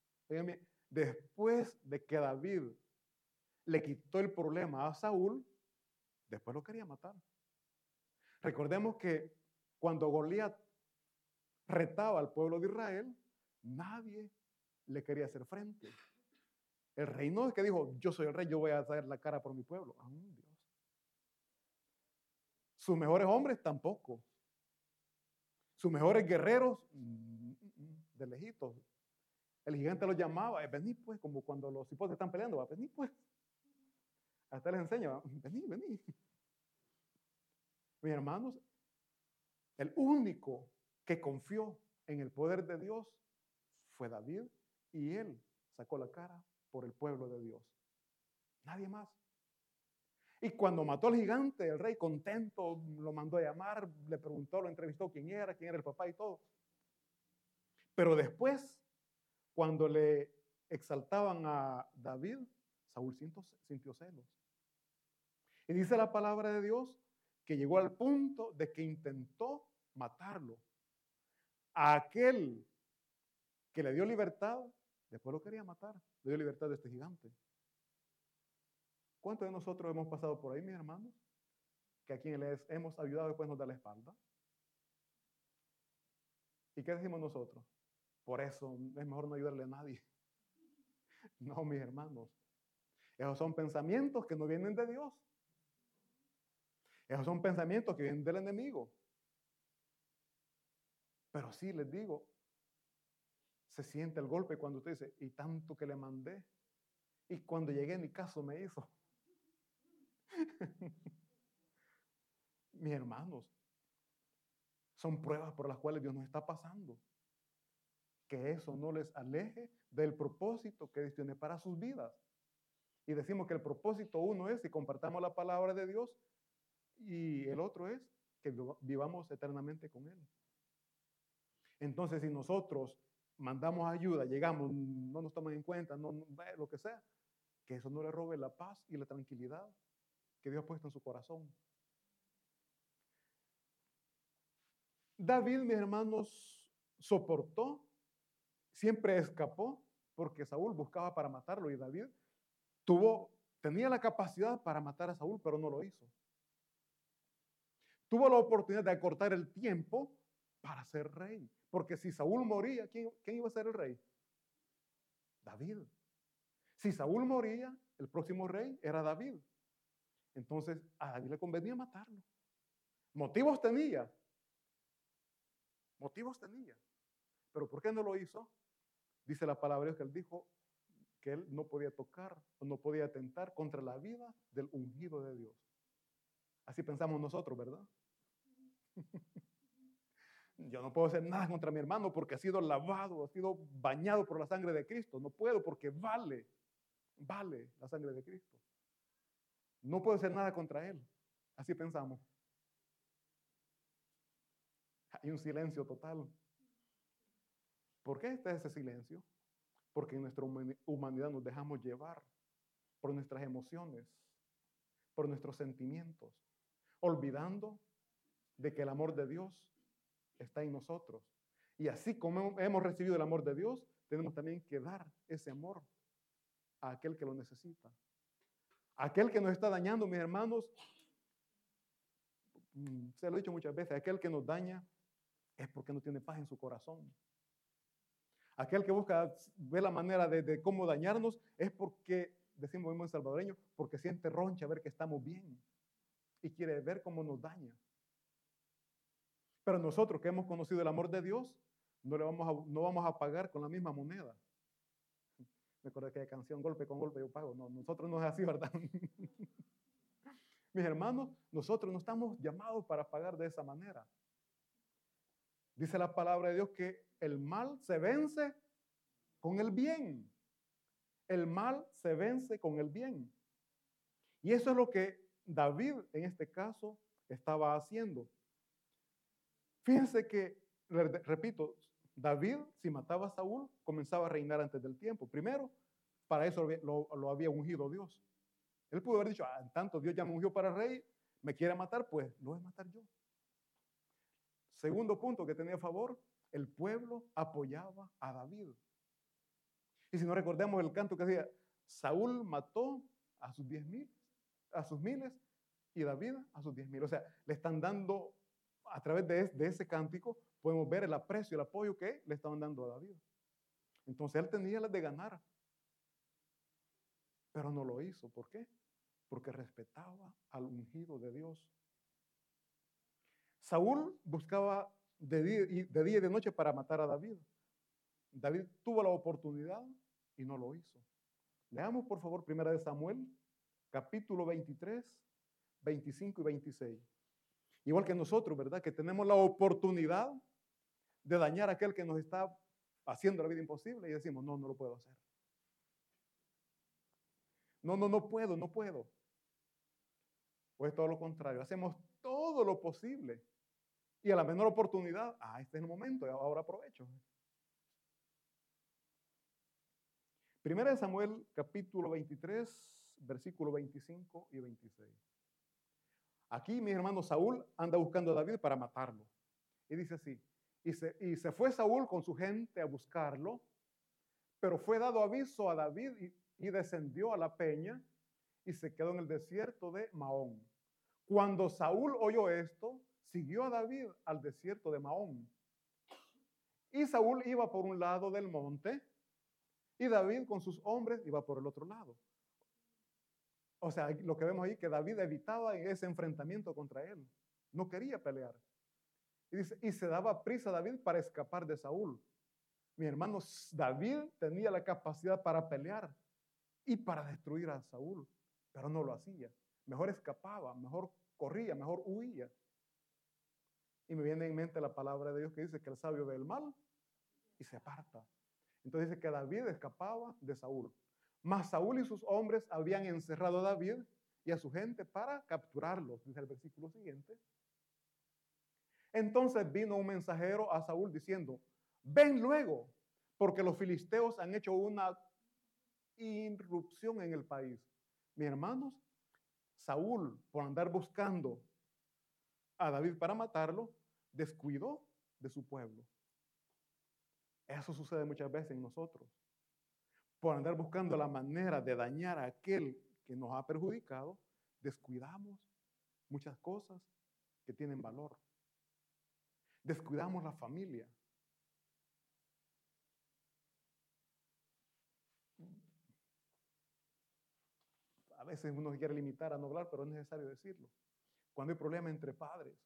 de que David le quitó el problema a Saúl, después lo quería matar. Recordemos que cuando Goliat retaba al pueblo de Israel, nadie le quería hacer frente. El rey no es que dijo, yo soy el rey, yo voy a dar la cara por mi pueblo. Dios. Sus mejores hombres tampoco. Sus mejores guerreros, de lejitos. El gigante los llamaba, vení pues, como cuando los hipotes están peleando, va, vení pues. Hasta les enseña, vení, vení. Mis hermanos, el único que confió en el poder de Dios fue David, y él sacó la cara por el pueblo de Dios. Nadie más. Y cuando mató al gigante, el rey contento lo mandó a llamar, le preguntó, lo entrevistó quién era el papá y todo. Pero después, cuando le exaltaban a David, Saúl sintió celos. Y dice la palabra de Dios que llegó al punto de que intentó matarlo. A aquel que le dio libertad, después lo quería matar, le dio libertad de este gigante. ¿Cuántos de nosotros hemos pasado por ahí, mis hermanos? Que a quien les hemos ayudado después nos da la espalda. ¿Y qué decimos nosotros? Por eso es mejor no ayudarle a nadie. No, mis hermanos. Esos son pensamientos que no vienen de Dios. Esos son pensamientos que vienen del enemigo. Pero sí, les digo, se siente el golpe cuando usted dice, y tanto que le mandé, y cuando llegué ni caso me hizo. Mis hermanos, son pruebas por las cuales Dios nos está pasando. Que eso no les aleje del propósito que Dios tiene para sus vidas. Y decimos que el propósito uno es que compartamos la palabra de Dios, y el otro es que vivamos eternamente con Él. Entonces, si nosotros mandamos ayuda, llegamos, no nos toman en cuenta, lo que sea, que eso no le robe la paz y la tranquilidad que Dios ha puesto en su corazón. David, mis hermanos, soportó, siempre escapó, porque Saúl buscaba para matarlo, y David tenía la capacidad para matar a Saúl, pero no lo hizo. Tuvo la oportunidad de acortar el tiempo para ser rey, porque si Saúl moría, ¿quién iba a ser el rey? David. Si Saúl moría, el próximo rey era David. Entonces, a David le convenía matarlo. Motivos tenía. Pero ¿por qué no lo hizo? Dice la palabra de Dios que él dijo que él no podía tocar o no podía atentar contra la vida del ungido de Dios. Así pensamos nosotros, ¿verdad? Yo no puedo hacer nada contra mi hermano porque ha sido lavado, ha sido bañado por la sangre de Cristo. No puedo porque vale la sangre de Cristo. No puedo hacer nada contra él. Así pensamos. Hay un silencio total. ¿Por qué está ese silencio? Porque en nuestra humanidad nos dejamos llevar por nuestras emociones, por nuestros sentimientos, olvidando de que el amor de Dios está en nosotros. Y así como hemos recibido el amor de Dios, tenemos también que dar ese amor a aquel que lo necesita. Aquel que nos está dañando, mis hermanos, se lo he dicho muchas veces, aquel que nos daña es porque no tiene paz en su corazón. Aquel que busca ver la manera de cómo dañarnos es porque, decimos en salvadoreño, porque siente roncha ver que estamos bien y quiere ver cómo nos daña. Pero nosotros que hemos conocido el amor de Dios, no vamos a pagar con la misma moneda. Me acuerdo que hay canción, golpe con golpe yo pago. No, nosotros no es así, ¿verdad? Mis hermanos, nosotros no estamos llamados para pagar de esa manera. Dice la palabra de Dios que el mal se vence con el bien. El mal se vence con el bien. Y eso es lo que David en este caso estaba haciendo. Fíjense que, repito, David, si mataba a Saúl, comenzaba a reinar antes del tiempo. Primero, para eso lo había ungido Dios. Él pudo haber dicho, tanto Dios ya me ungió para rey, me quiere matar, pues lo voy a matar yo. Segundo punto que tenía a favor, el pueblo apoyaba a David. Y si no recordemos el canto que decía, Saúl mató a sus 10,000, a sus miles, y David a sus 10,000. O sea, le están dando, a través de ese cántico, podemos ver el aprecio, el apoyo que le estaban dando a David. Entonces él tenía las de ganar, pero no lo hizo. ¿Por qué? Porque respetaba al ungido de Dios. Saúl buscaba de día y de noche para matar a David. David tuvo la oportunidad y no lo hizo. Leamos por favor 1 Samuel, capítulo 23, 25 y 26. Igual que nosotros, ¿verdad? Que tenemos la oportunidad de dañar a aquel que nos está haciendo la vida imposible y decimos, no, no lo puedo hacer. No, no puedo, no puedo. O es todo lo contrario, hacemos todo lo posible y a la menor oportunidad, este es el momento, ahora aprovecho. 1 Samuel, capítulo 23, versículo 25 y 26. Aquí, mi hermano Saúl anda buscando a David para matarlo. Y dice así, y se fue Saúl con su gente a buscarlo, pero fue dado aviso a David y descendió a la peña y se quedó en el desierto de Maón. Cuando Saúl oyó esto, siguió a David al desierto de Maón. Y Saúl iba por un lado del monte y David con sus hombres iba por el otro lado. O sea, lo que vemos ahí que David evitaba ese enfrentamiento contra él. No quería pelear. Y dice, y se daba prisa David para escapar de Saúl. Mi hermano, David tenía la capacidad para pelear y para destruir a Saúl, pero no lo hacía. Mejor escapaba, mejor corría, mejor huía. Y me viene en mente la palabra de Dios que dice que el sabio ve el mal y se aparta. Entonces dice que David escapaba de Saúl. Mas Saúl y sus hombres habían encerrado a David y a su gente para capturarlos, dice el versículo siguiente. Entonces vino un mensajero a Saúl diciendo, ven luego, porque los filisteos han hecho una irrupción en el país. Mis hermanos, Saúl, por andar buscando a David para matarlo, descuidó de su pueblo. Eso sucede muchas veces en nosotros. Por andar buscando la manera de dañar a aquel que nos ha perjudicado, descuidamos muchas cosas que tienen valor. Descuidamos la familia. A veces uno se quiere limitar a no hablar, pero es necesario decirlo. Cuando hay problemas entre padres,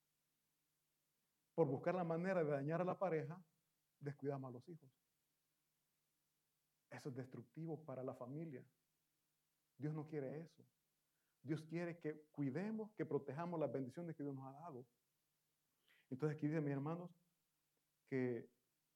por buscar la manera de dañar a la pareja, descuidamos a los hijos. Eso es destructivo para la familia. Dios no quiere eso. Dios quiere que cuidemos, que protejamos las bendiciones que Dios nos ha dado. Entonces aquí dice, mis hermanos, que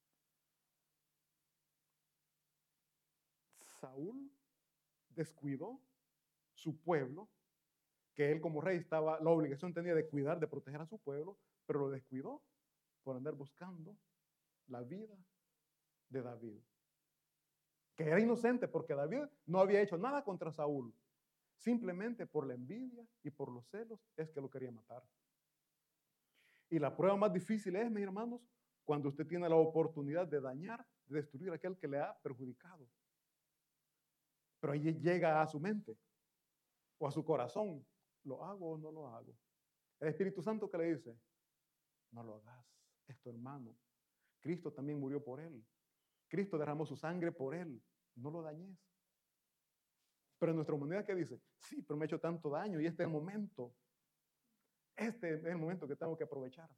Saúl descuidó su pueblo, que él como rey la obligación tenía de cuidar, de proteger a su pueblo, pero lo descuidó por andar buscando la vida de David, que era inocente porque David no había hecho nada contra Saúl, simplemente por la envidia y por los celos es que lo quería matar. Y la prueba más difícil es, mis hermanos, cuando usted tiene la oportunidad de dañar, de destruir a aquel que le ha perjudicado. Pero ahí llega a su mente o a su corazón, ¿lo hago o no lo hago? El Espíritu Santo que le dice, no lo hagas, es tu hermano. Cristo también murió por él. Cristo derramó su sangre por él, no lo dañes. Pero en nuestra humanidad, ¿qué dice? Sí, pero me he hecho tanto daño y este es el momento. Este es el momento que tengo que aprovechar.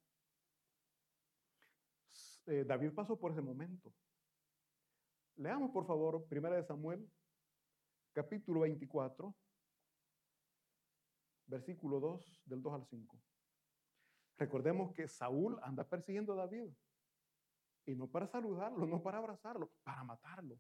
David pasó por ese momento. Leamos, por favor, 1 Samuel, capítulo 24, versículo 2, del 2 al 5. Recordemos que Saúl anda persiguiendo a David. Y no para saludarlo, no para abrazarlo, para matarlo.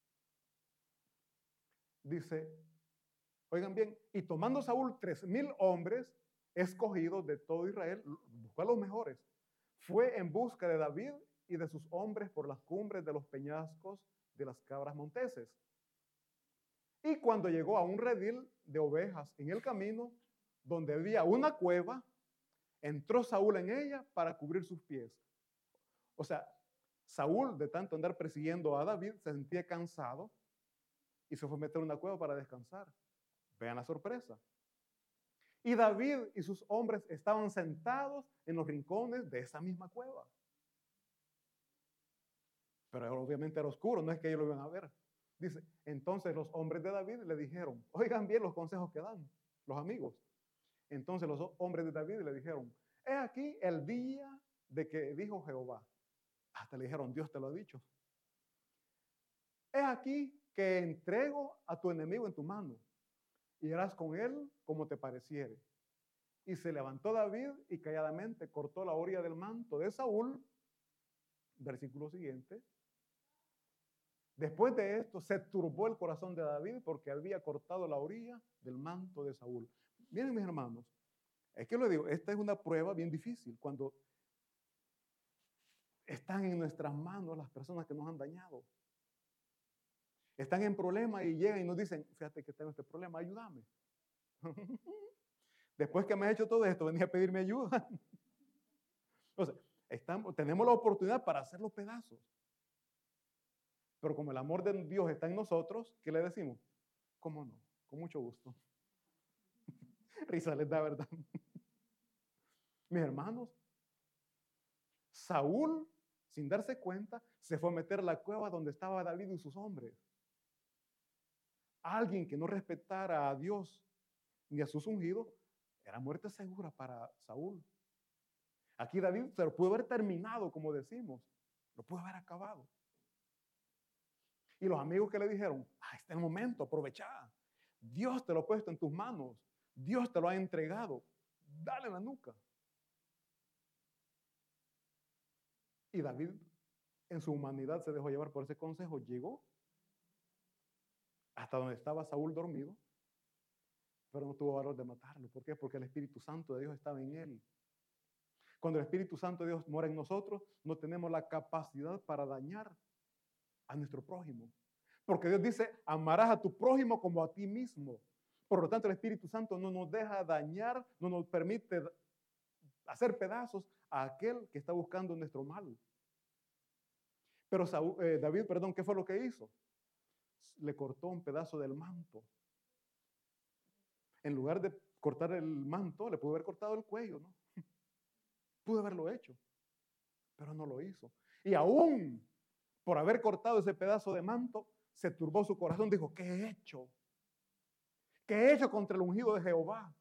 Dice, oigan bien, y tomando Saúl 3,000 hombres escogidos de todo Israel, buscó a los mejores, fue en busca de David y de sus hombres por las cumbres de los peñascos de las cabras monteses. Y cuando llegó a un redil de ovejas en el camino, donde había una cueva, entró Saúl en ella para cubrir sus pies. O sea, Saúl, de tanto andar persiguiendo a David, se sentía cansado y se fue a meter en una cueva para descansar. Vean la sorpresa. Y David y sus hombres estaban sentados en los rincones de esa misma cueva. Pero obviamente era oscuro, no es que ellos lo iban a ver. Dice, entonces los hombres de David le dijeron, oigan bien los consejos que dan los amigos. Entonces los hombres de David le dijeron, he aquí el día de que dijo Jehová. Hasta le dijeron, Dios te lo ha dicho. He aquí que entrego a tu enemigo en tu mano y harás con él como te pareciere. Y se levantó David y calladamente cortó la orilla del manto de Saúl. Versículo siguiente. Después de esto se turbó el corazón de David porque había cortado la orilla del manto de Saúl. Miren, mis hermanos, es que lo digo, esta es una prueba bien difícil cuando están en nuestras manos las personas que nos han dañado. Están en problemas y llegan y nos dicen, fíjate que tengo este problema, ayúdame. Después que me has hecho todo esto, venía a pedirme ayuda. O sea, tenemos la oportunidad para hacer los pedazos. Pero como el amor de Dios está en nosotros, ¿qué le decimos? ¿Cómo no? Con mucho gusto. Risa les da, ¿verdad? Mis hermanos, Saúl, sin darse cuenta, se fue a meter a la cueva donde estaba David y sus hombres. Alguien que no respetara a Dios ni a sus ungidos, era muerte segura para Saúl. Aquí David se lo pudo haber terminado, como decimos. Lo pudo haber acabado. Y los amigos que le dijeron, este es el momento, aprovecha. Dios te lo ha puesto en tus manos. Dios te lo ha entregado. Dale en la nuca. Y David, en su humanidad, se dejó llevar por ese consejo. Llegó hasta donde estaba Saúl dormido, pero no tuvo valor de matarlo. ¿Por qué? Porque el Espíritu Santo de Dios estaba en él. Cuando el Espíritu Santo de Dios mora en nosotros, no tenemos la capacidad para dañar a nuestro prójimo. Porque Dios dice, amarás a tu prójimo como a ti mismo. Por lo tanto, el Espíritu Santo no nos deja dañar, no nos permite hacer pedazos a aquel que está buscando nuestro mal. Pero David, ¿qué fue lo que hizo? Le cortó un pedazo del manto. En lugar de cortar el manto, le pudo haber cortado el cuello, ¿no? Pudo haberlo hecho, pero no lo hizo. Y aún por haber cortado ese pedazo de manto, se turbó su corazón. Dijo, ¿qué he hecho? ¿Qué he hecho contra el ungido de Jehová?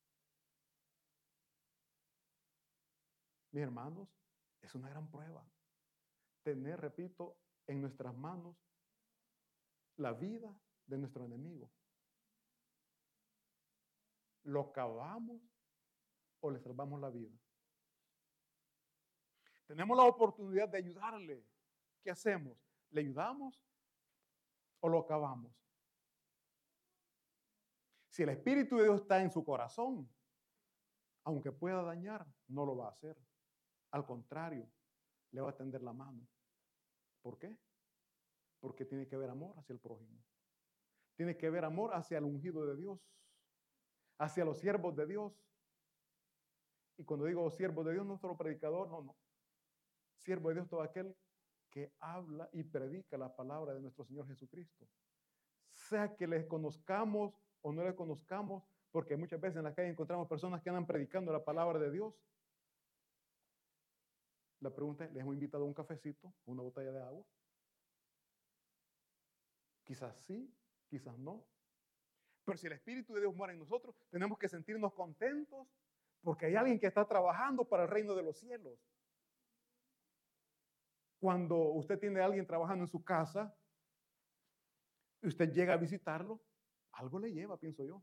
Mis hermanos, es una gran prueba. Tener, repito, en nuestras manos la vida de nuestro enemigo. ¿Lo acabamos o le salvamos la vida? Tenemos la oportunidad de ayudarle. ¿Qué hacemos? ¿Le ayudamos o lo acabamos? Si el Espíritu de Dios está en su corazón, aunque pueda dañar, no lo va a hacer. Al contrario, le va a tender la mano. ¿Por qué? Porque tiene que haber amor hacia el prójimo. Tiene que haber amor hacia el ungido de Dios, hacia los siervos de Dios. Y cuando digo siervos de Dios, no solo predicador, no. Siervo de Dios, todo aquel que habla y predica la palabra de nuestro Señor Jesucristo. Sea que les conozcamos o no les conozcamos, porque muchas veces en la calle encontramos personas que andan predicando la palabra de Dios. La pregunta es, ¿les hemos invitado a un cafecito, una botella de agua? Quizás sí, quizás no. Pero si el Espíritu de Dios mora en nosotros, tenemos que sentirnos contentos porque hay alguien que está trabajando para el reino de los cielos. Cuando usted tiene a alguien trabajando en su casa y usted llega a visitarlo, algo le lleva, pienso yo.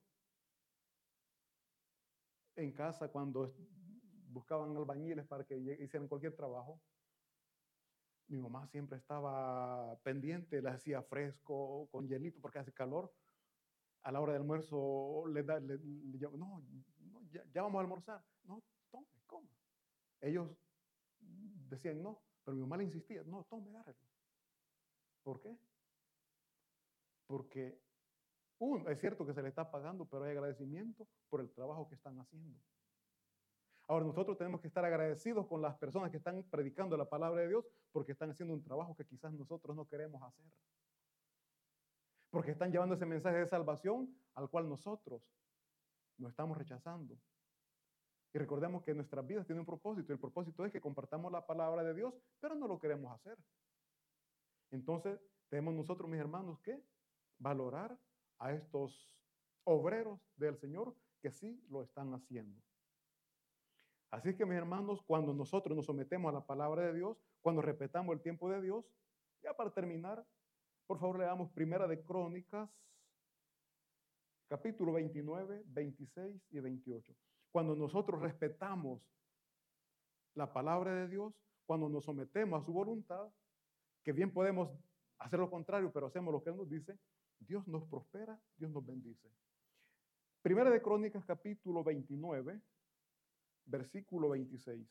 En casa, cuando buscaban albañiles para que hicieran cualquier trabajo, mi mamá siempre estaba pendiente, le hacía fresco, con hielito, porque hace calor. A la hora del almuerzo le llama, no, ya vamos a almorzar. No, tome, coma. Ellos decían no, pero mi mamá le insistía, no, tome, agárrelo. ¿Por qué? Porque es cierto que se le está pagando, pero hay agradecimiento por el trabajo que están haciendo. Ahora nosotros tenemos que estar agradecidos con las personas que están predicando la palabra de Dios porque están haciendo un trabajo que quizás nosotros no queremos hacer. Porque están llevando ese mensaje de salvación al cual nosotros nos estamos rechazando. Y recordemos que nuestras vidas tienen un propósito. Y el propósito es que compartamos la palabra de Dios, pero no lo queremos hacer. Entonces, tenemos nosotros, mis hermanos, que valorar a estos obreros del Señor que sí lo están haciendo. Así que, mis hermanos, cuando nosotros nos sometemos a la palabra de Dios, cuando respetamos el tiempo de Dios, ya para terminar, por favor, leamos Primera de Crónicas, capítulo 29, 26 y 28. Cuando nosotros respetamos la palabra de Dios, cuando nos sometemos a su voluntad, que bien podemos hacer lo contrario, pero hacemos lo que Él nos dice, Dios nos prospera, Dios nos bendice. Primera de Crónicas, capítulo 29, versículo 26.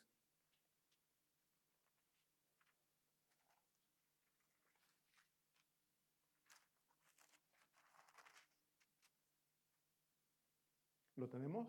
¿Lo tenemos?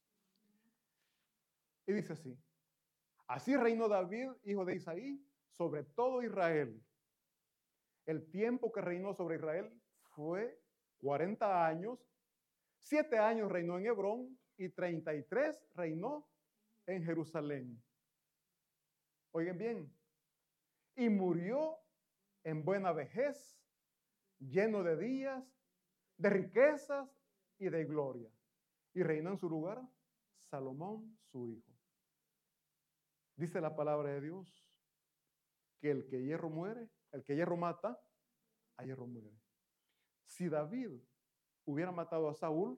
Y dice así: así reinó David, hijo de Isaí, sobre todo Israel. El tiempo que reinó sobre Israel fue 40 años. 7 años reinó en Hebrón y 33 reinó en Jerusalén. Oigan bien. Y murió en buena vejez, lleno de días, de riquezas y de gloria. Y reinó en su lugar Salomón, su hijo. Dice la palabra de Dios que el que hierro muere, el que hierro mata, a hierro muere. Si David hubiera matado a Saúl,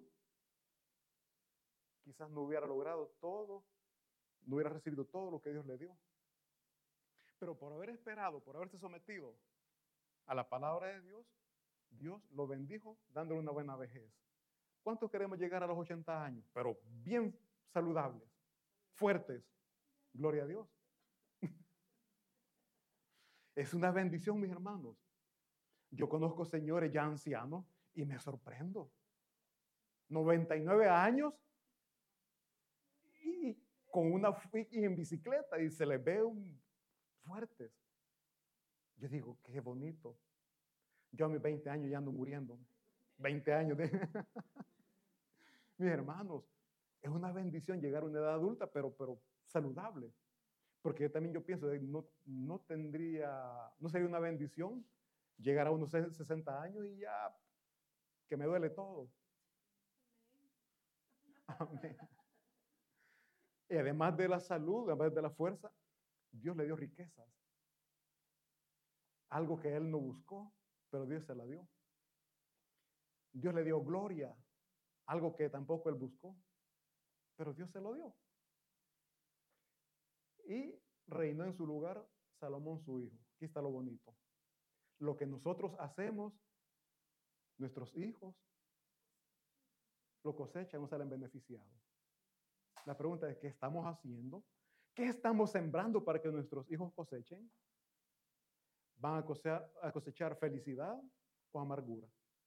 quizás no hubiera logrado todo, no hubiera recibido todo lo que Dios le dio. Pero por haber esperado, por haberse sometido a la palabra de Dios, Dios lo bendijo dándole una buena vejez. ¿Cuántos queremos llegar a los 80 años? Pero bien saludables, fuertes. Gloria a Dios. Es una bendición, mis hermanos. Yo conozco señores ya ancianos y me sorprendo. 99 años y en bicicleta y se les ve fuertes. Yo digo, qué bonito. Yo a mis 20 años ya ando muriendo. 20 años de... Mis hermanos, es una bendición llegar a una edad adulta, pero saludable. Porque también yo pienso, no sería una bendición llegar a unos 60 años y ya que me duele todo. Amén. Y además de la salud, además de la fuerza, Dios le dio riquezas. Algo que él no buscó, pero Dios se la dio. Dios le dio gloria, algo que tampoco él buscó, pero Dios se lo dio. Y reinó en su lugar Salomón, su hijo. Aquí está lo bonito. Lo que nosotros hacemos, nuestros hijos lo cosechan, no salen beneficiados. La pregunta es, ¿qué estamos haciendo? ¿Qué estamos sembrando para que nuestros hijos cosechen? ¿Van a cosechar felicidad o amargura?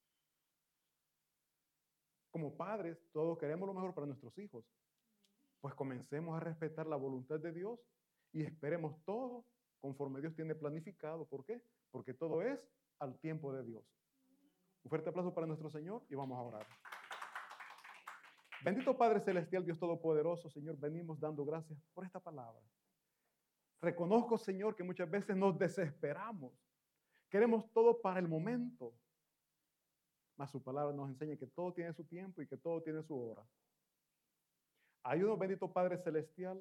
Como padres, todos queremos lo mejor para nuestros hijos. Pues comencemos a respetar la voluntad de Dios y esperemos todo conforme Dios tiene planificado. ¿Por qué? Porque todo es al tiempo de Dios. Un fuerte aplauso para nuestro Señor y vamos a orar. Bendito Padre Celestial, Dios Todopoderoso, Señor, venimos dando gracias por esta palabra. Reconozco, Señor, que muchas veces nos desesperamos. Queremos todo para el momento. Mas su palabra nos enseña que todo tiene su tiempo y que todo tiene su hora. Ayúdanos, bendito Padre Celestial,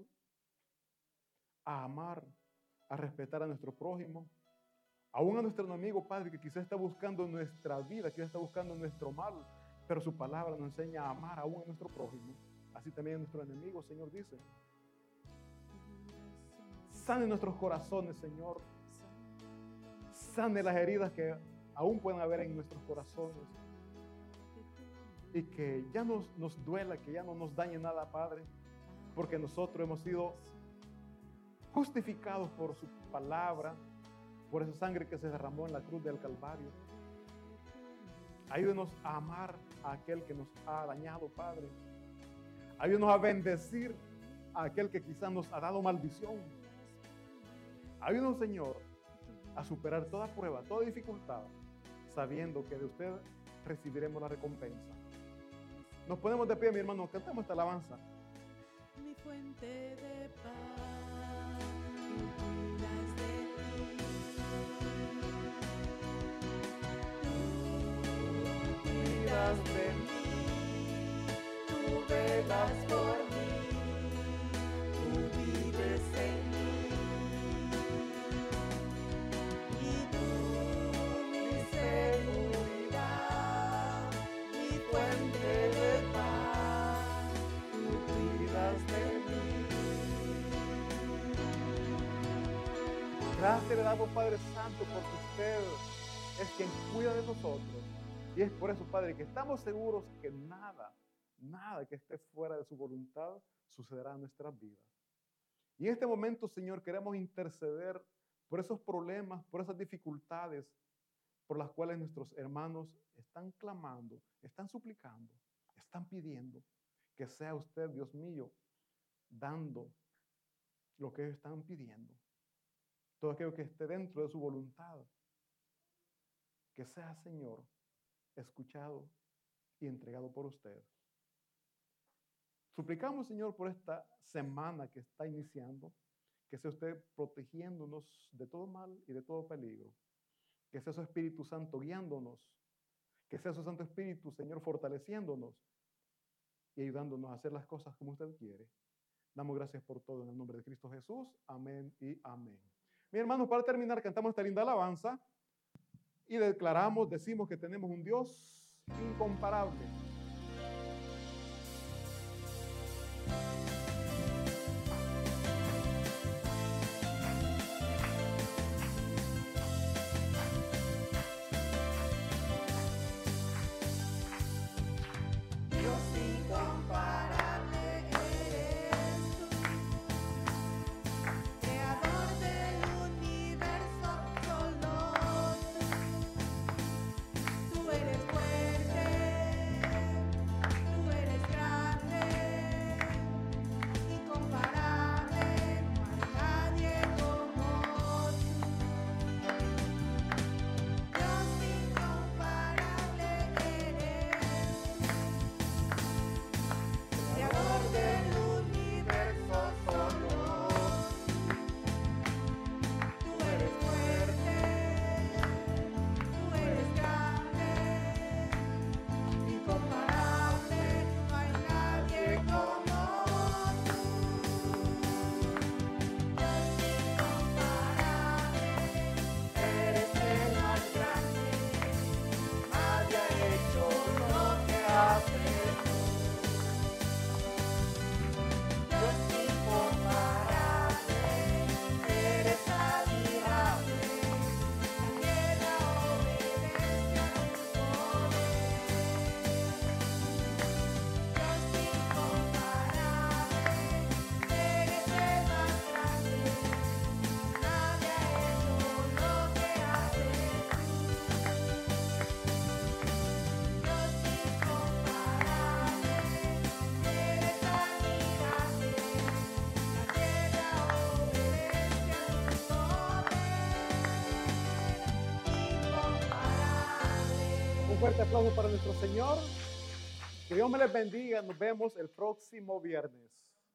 a amar, a respetar a nuestro prójimo, aún a nuestro enemigo, Padre, que quizás está buscando nuestra vida, quizás está buscando nuestro mal, pero su palabra nos enseña a amar aún a nuestro prójimo. Así también a nuestro enemigo, Señor, dice. Sane nuestros corazones, Señor. Sane las heridas que aún pueden haber en nuestros corazones. Y que ya nos duela, que ya no nos dañe nada, Padre, porque nosotros hemos sido justificados por su palabra, por esa sangre que se derramó en la cruz del Calvario. Ayúdenos a amar a aquel que nos ha dañado, Padre. Ayúdenos a bendecir a aquel que quizás nos ha dado maldición. Ayúdenos, Señor, a superar toda prueba, toda dificultad, sabiendo que de usted recibiremos la recompensa. Nos ponemos de pie, mi hermano, cantamos esta alabanza. Mi fuente de paz, tú cuidas de mí. Tú cuidas de mí, tú velas por mí. Tú Gracias le damos, Padre Santo, porque usted es quien cuida de nosotros. Y es por eso, Padre, que estamos seguros que nada que esté fuera de su voluntad sucederá en nuestras vidas. Y en este momento, Señor, queremos interceder por esos problemas, por esas dificultades por las cuales nuestros hermanos están clamando, están suplicando, están pidiendo que sea usted, Dios mío, dando lo que ellos están pidiendo. Todo aquello que esté dentro de su voluntad, que sea, Señor, escuchado y entregado por usted. Suplicamos, Señor, por esta semana que está iniciando, que sea usted protegiéndonos de todo mal y de todo peligro. Que sea su Espíritu Santo guiándonos. Que sea su Santo Espíritu, Señor, fortaleciéndonos y ayudándonos a hacer las cosas como usted quiere. Damos gracias por todo en el nombre de Cristo Jesús. Amén y amén. Mis hermanos, para terminar, cantamos esta linda alabanza y decimos que tenemos un Dios incomparable. Dios incomparable eres tú, creador del universo, solo tú eres fuerte, tú eres grande, incomparable, no hay nadie como tú. Dios incomparable eres creador del universo, solo tú eres fuerte, tú eres grande, incomparable, no hay nadie como tú. Dios incomparable, eres el más grande, nadie ha hecho lo que haces tú. Dios incomparable, eres admirable, la tierra obedece a tu poder. Dios incomparable, eres el más grande, nadie ha hecho lo que haces tú. Dios incomparable, eres admirable, la tierra obedece a tu poder, incomparable. Un fuerte aplauso para nuestro Señor. Que Dios me les bendiga. Nos vemos el próximo viernes.